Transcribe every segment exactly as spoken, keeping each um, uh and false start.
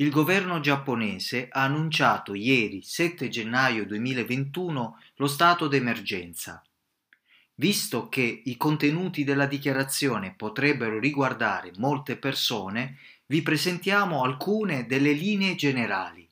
Il governo giapponese ha annunciato ieri, sette gennaio duemilaventuno, lo stato d'emergenza. Visto che i contenuti della dichiarazione potrebbero riguardare molte persone, vi presentiamo alcune delle linee generali.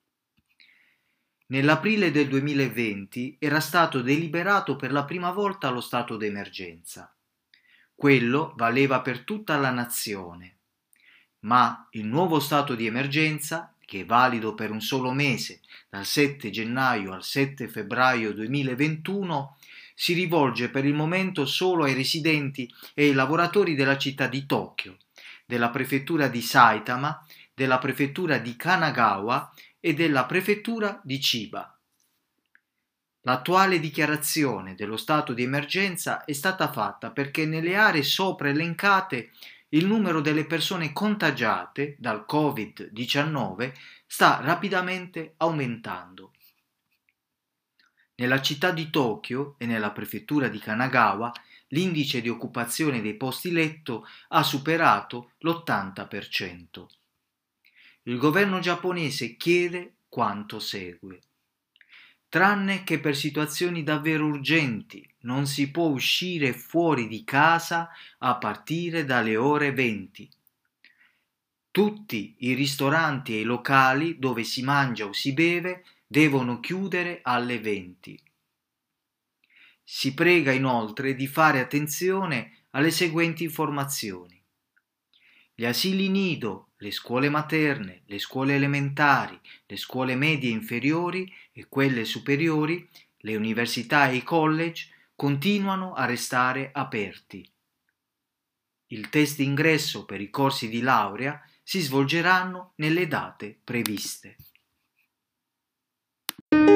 Nell'aprile del duemilaventi era stato deliberato per la prima volta lo stato d'emergenza. Quello valeva per tutta la nazione. Ma il nuovo stato di emergenza, che è valido per un solo mese, dal sette gennaio al sette febbraio duemilaventuno, si rivolge per il momento solo ai residenti e ai lavoratori della città di Tokyo, della prefettura di Saitama, della prefettura di Kanagawa e della prefettura di Chiba. L'attuale dichiarazione dello stato di emergenza è stata fatta perché nelle aree sopra elencate il numero delle persone contagiate dal covid diciannove sta rapidamente aumentando. Nella città di Tokyo e nella prefettura di Kanagawa l'indice di occupazione dei posti letto ha superato l'ottanta per cento. Il governo giapponese chiede quanto segue. Tranne che per situazioni davvero urgenti, non si può uscire fuori di casa a partire dalle ore venti. Tutti i ristoranti e i locali dove si mangia o si beve devono chiudere alle venti. Si prega inoltre di fare attenzione alle seguenti informazioni. Gli asili nido, le scuole materne, le scuole elementari, le scuole medie inferiori e quelle superiori, le università e i college continuano a restare aperti. Il test d'ingresso per i corsi di laurea si svolgeranno nelle date previste.